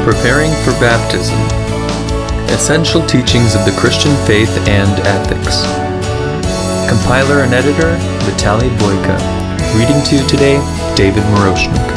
Preparing for Baptism. Essential Teachings of the Christian Faith and Ethics. Compiler and editor, Vitaly Boyka. Reading to you today, David Moroshnik.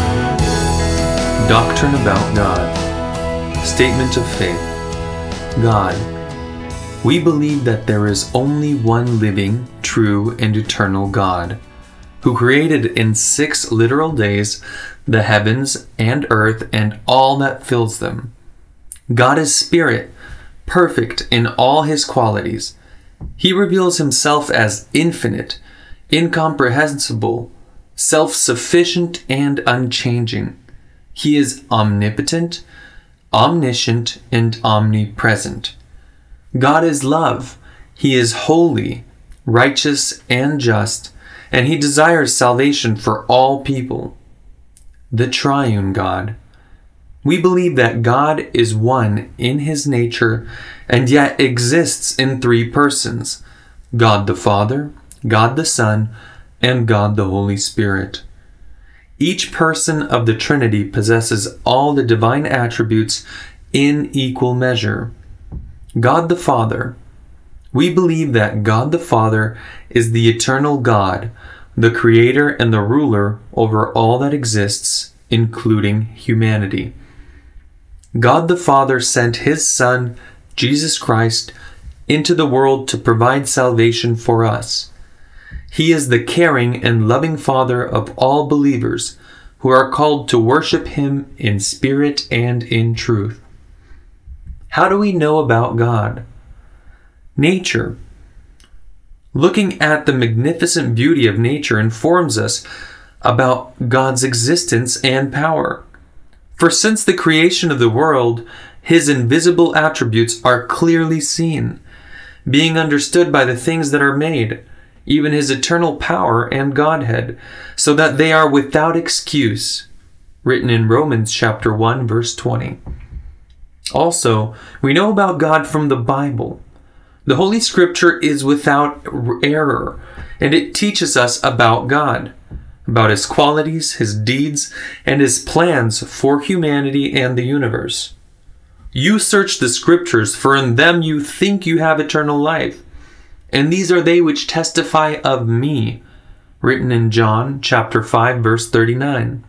Doctrine about God. Statement of Faith. God. We believe that there is only one living, true, and eternal God, who created in 6 literal days the heavens and earth and all that fills them. God is Spirit, perfect in all His qualities. He reveals Himself as infinite, incomprehensible, self-sufficient, and unchanging. He is omnipotent, omniscient, and omnipresent. God is love. He is holy, righteous, and just, and He desires salvation for all people. The Triune God. We believe that God is one in His nature and yet exists in 3 persons: God the Father, God the Son, and God the Holy Spirit. Each person of the Trinity possesses all the divine attributes in equal measure. God the Father. We believe that God the Father is the eternal God, the creator and the ruler over all that exists, including humanity. God the Father sent His Son, Jesus Christ, into the world to provide salvation for us. He is the caring and loving Father of all believers who are called to worship Him in spirit and in truth. How do we know about God? Nature. Looking at the magnificent beauty of nature informs us about God's existence and power. For since the creation of the world, His invisible attributes are clearly seen, being understood by the things that are made, even His eternal power and Godhead, so that they are without excuse. Written in Romans chapter 1, verse 20. Also, we know about God from the Bible. The Holy Scripture is without error, and it teaches us about God, about His qualities, His deeds, and His plans for humanity and the universe. You search the Scriptures, for in them you think you have eternal life, and these are they which testify of me, written in John chapter 5, verse 39.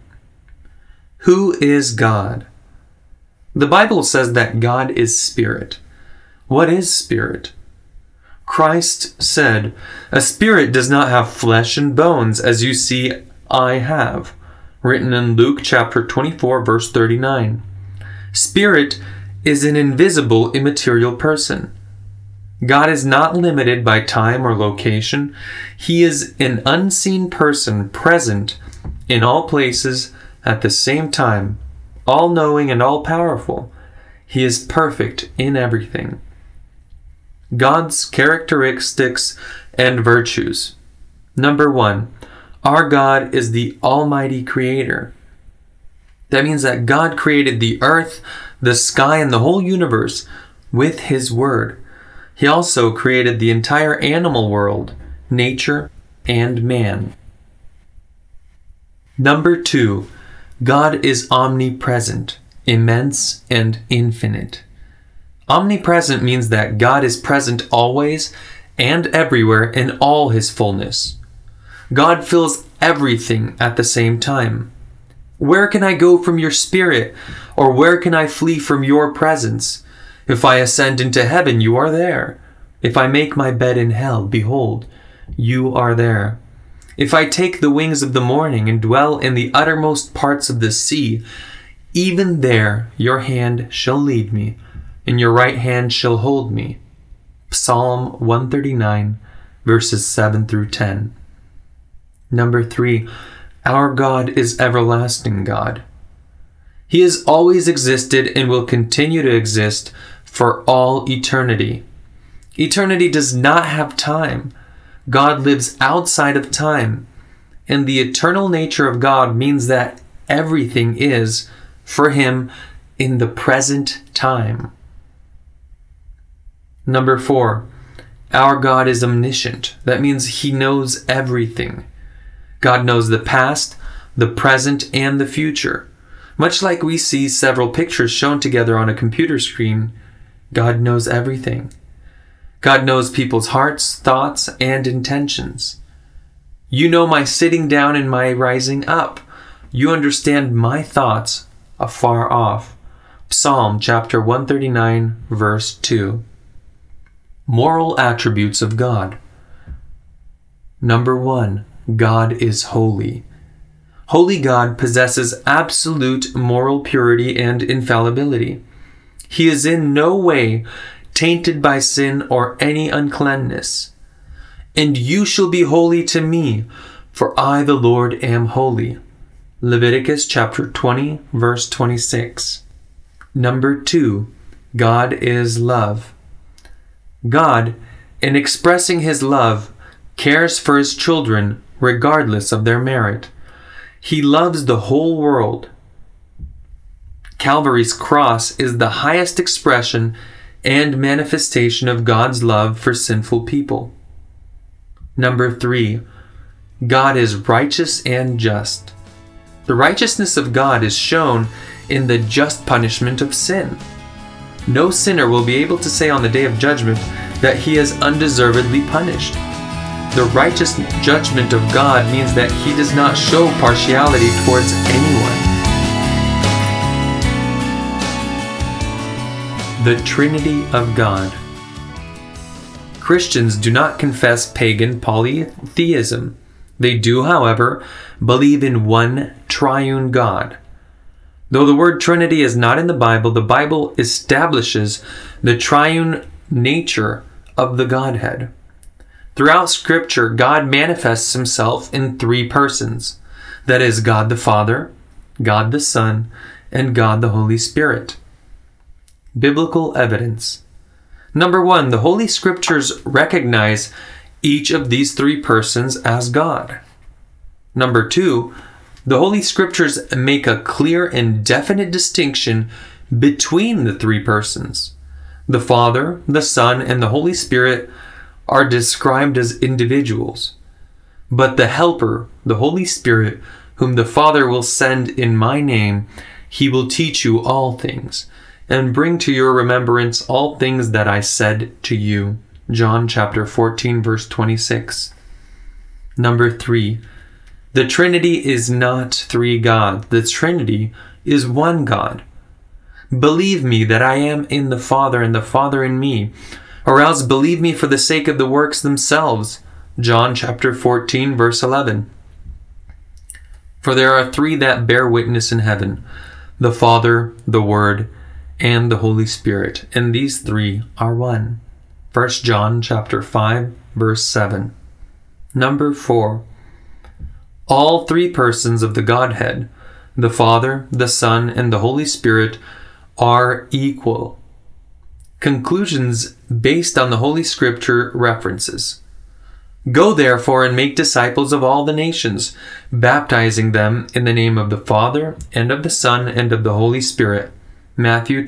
Who is God? The Bible says that God is Spirit. What is Spirit? Christ said, "A spirit does not have flesh and bones, as you see I have," written in Luke chapter 24, verse 39. Spirit is an invisible, immaterial person. God is not limited by time or location. He is an unseen person present in all places at the same time, all-knowing and all-powerful. He is perfect in everything. God's characteristics and virtues. Number 1, our God is the Almighty Creator. That means that God created the earth, the sky, and the whole universe with His Word. He also created the entire animal world, nature, and man. Number 2, God is omnipresent, immense, and infinite. Omnipresent means that God is present always and everywhere in all His fullness. God fills everything at the same time. Where can I go from your Spirit? Or where can I flee from your presence? If I ascend into heaven, you are there. If I make my bed in hell, behold, you are there. If I take the wings of the morning and dwell in the uttermost parts of the sea, even there your hand shall lead me, and your right hand shall hold me. Psalm 139, verses 7 through 10. Number 3, our God is everlasting God. He has always existed and will continue to exist for all eternity. Eternity does not have time. God lives outside of time, and the eternal nature of God means that everything is, for Him, in the present time. Number 4, our God is omniscient. That means He knows everything. God knows the past, the present, and the future. Much like we see several pictures shown together on a computer screen, God knows everything. God knows people's hearts, thoughts, and intentions. You know my sitting down and my rising up. You understand my thoughts afar off. Psalm chapter 139, verse 2. Moral attributes of God. Number 1, God is holy. Holy God possesses absolute moral purity and infallibility. He is in no way tainted by sin or any uncleanness. And you shall be holy to me, for I, the Lord, am holy. Leviticus chapter 20, verse 26. Number 2, God is love. God, in expressing his love, cares for his children regardless of their merit. He loves the whole world. Calvary's cross is the highest expression and manifestation of God's love for sinful people. Number 3, God is righteous and just. The righteousness of God is shown in the just punishment of sin. No sinner will be able to say on the day of judgment that he is undeservedly punished. The righteous judgment of God means that he does not show partiality towards anyone. The Trinity of God. Christians do not confess pagan polytheism. They do, however, believe in one triune God. Though the word Trinity is not in the Bible establishes the triune nature of the Godhead. Throughout Scripture, God manifests himself in 3 persons. That is, God the Father, God the Son, and God the Holy Spirit. Biblical evidence. Number 1, the Holy Scriptures recognize each of these 3 persons as God. Number 2, the Holy Scriptures make a clear and definite distinction between the 3 persons. The Father, the Son, and the Holy Spirit are described as individuals. But the Helper, the Holy Spirit, whom the Father will send in my name, he will teach you all things, and bring to your remembrance all things that I said to you. John chapter 14, verse 26. Number 3, the Trinity is not 3 gods. The Trinity is one God. Believe me that I am in the Father and the Father in me, or else believe me for the sake of the works themselves. John chapter 14, verse 11. For there are 3 that bear witness in heaven, the Father, the Word, and the Holy Spirit, and these 3 are one. 1 John chapter 5, verse 7. Number 4, all 3 persons of the Godhead, the Father, the Son, and the Holy Spirit, are equal. Conclusions based on the Holy Scripture references. Go therefore and make disciples of all the nations, baptizing them in the name of the Father, and of the Son, and of the Holy Spirit. Matthew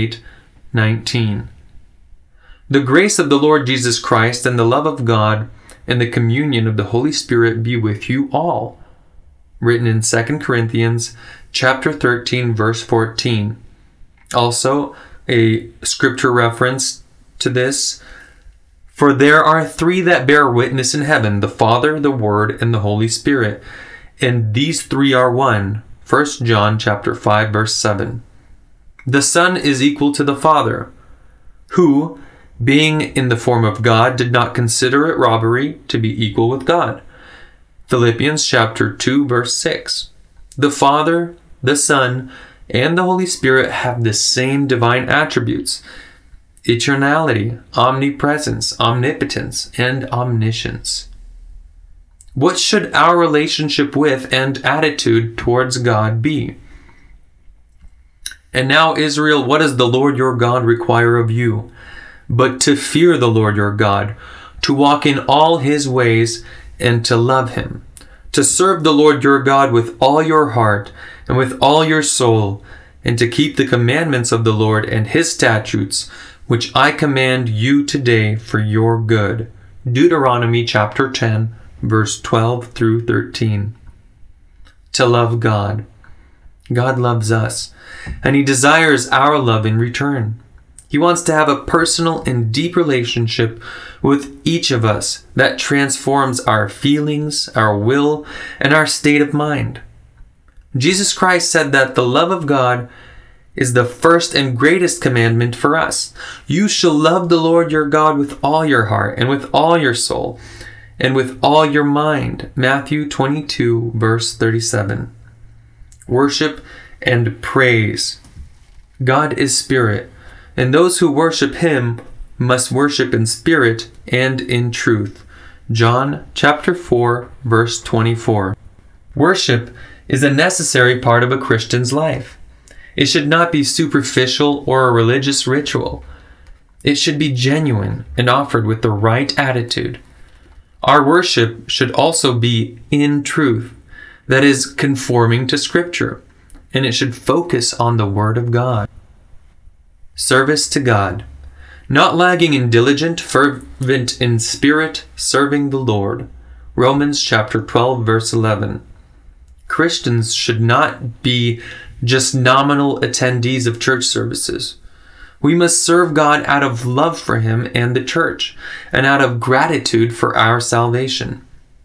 28:19. The grace of the Lord Jesus Christ and the love of God and the communion of the Holy Spirit be with you all. Written in 2 Corinthians chapter 13, verse 14. Also, a scripture reference to this. For there are 3 that bear witness in heaven, the Father, the Word, and the Holy Spirit, and these 3 are one. 1 John chapter 5, verse 7. The Son is equal to the Father, who, being in the form of God, did not consider it robbery to be equal with God. Philippians chapter 2, verse 6. The Father, the Son, and the Holy Spirit have the same divine attributes: eternality, omnipresence, omnipotence, and omniscience. What should our relationship with and attitude towards God be? And now, Israel, what does the Lord your God require of you? But to fear the Lord your God, to walk in all his ways, and to love him, to serve the Lord your God with all your heart and with all your soul, and to keep the commandments of the Lord and his statutes, which I command you today for your good. Deuteronomy chapter 10, verse 12 through 13. To love God. God loves us, and He desires our love in return. He wants to have a personal and deep relationship with each of us that transforms our feelings, our will, and our state of mind. Jesus Christ said that the love of God is the first and greatest commandment for us. You shall love the Lord your God with all your heart and with all your soul and with all your mind. Matthew 22, verse 37. Worship and praise. God is spirit, and those who worship Him must worship in spirit and in truth. John chapter 4, verse 24. Worship is a necessary part of a Christian's life. It should not be superficial or a religious ritual. It should be genuine and offered with the right attitude. Our worship should also be in truth, that is, conforming to Scripture, and it should focus on the Word of God. Service to God. Not lagging in diligent, fervent in spirit, serving the Lord. Romans chapter 12, verse 11. Christians should not be just nominal attendees of church services. We must serve God out of love for Him and the church, and out of gratitude for our salvation.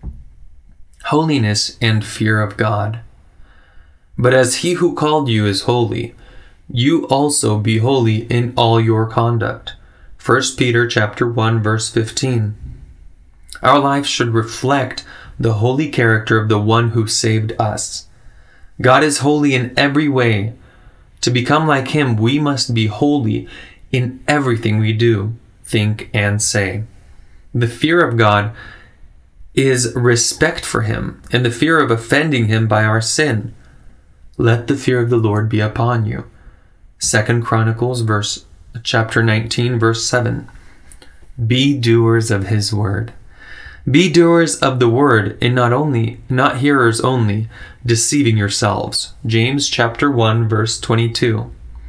Holiness and fear of God. But as He who called you is holy, you also be holy in all your conduct. 1 Peter chapter 1, verse 15. Our life should reflect the holy character of the one who saved us. God is holy in every way. To become like Him, we must be holy in everything we do, think, and say. The fear of God is respect for Him and the fear of offending Him by our sin. Let the fear of the Lord be upon you. 2 Chronicles chapter 19, verse 7. Be doers of His word. Be doers of the word, and not hearers only, deceiving yourselves. James chapter 1, verse 22.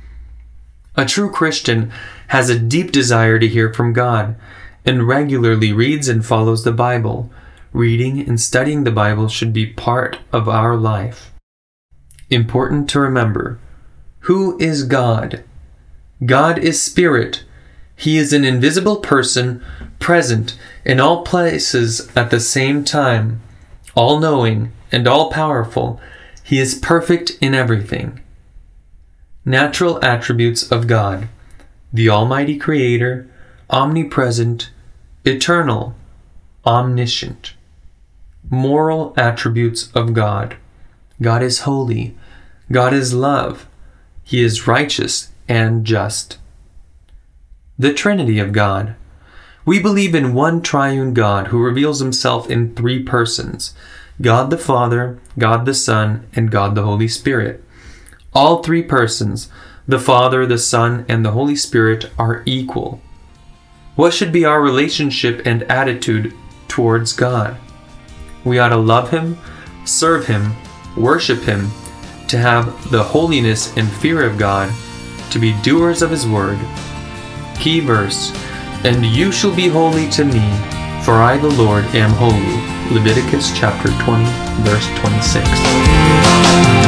A true Christian has a deep desire to hear from God, and regularly reads and follows the Bible. Reading and studying the Bible should be part of our life. Important to remember. Who is God? God is spirit. He is an invisible person, present in all places at the same time, all-knowing and all-powerful. He is perfect in everything. Natural attributes of God: the Almighty Creator, omnipresent, eternal, omniscient. Moral attributes of God: God is holy. God is love. He is righteous and just. The Trinity of God. We believe in one triune God who reveals Himself in three persons: God the Father, God the Son, and God the Holy Spirit. All three persons, the Father, the Son, and the Holy Spirit, are equal. What should be our relationship and attitude towards God? We ought to love Him, serve Him, worship Him, to have the holiness and fear of God, to be doers of His word. Key verse: and you shall be holy to me, for I the Lord am holy. Leviticus chapter 20, verse 26.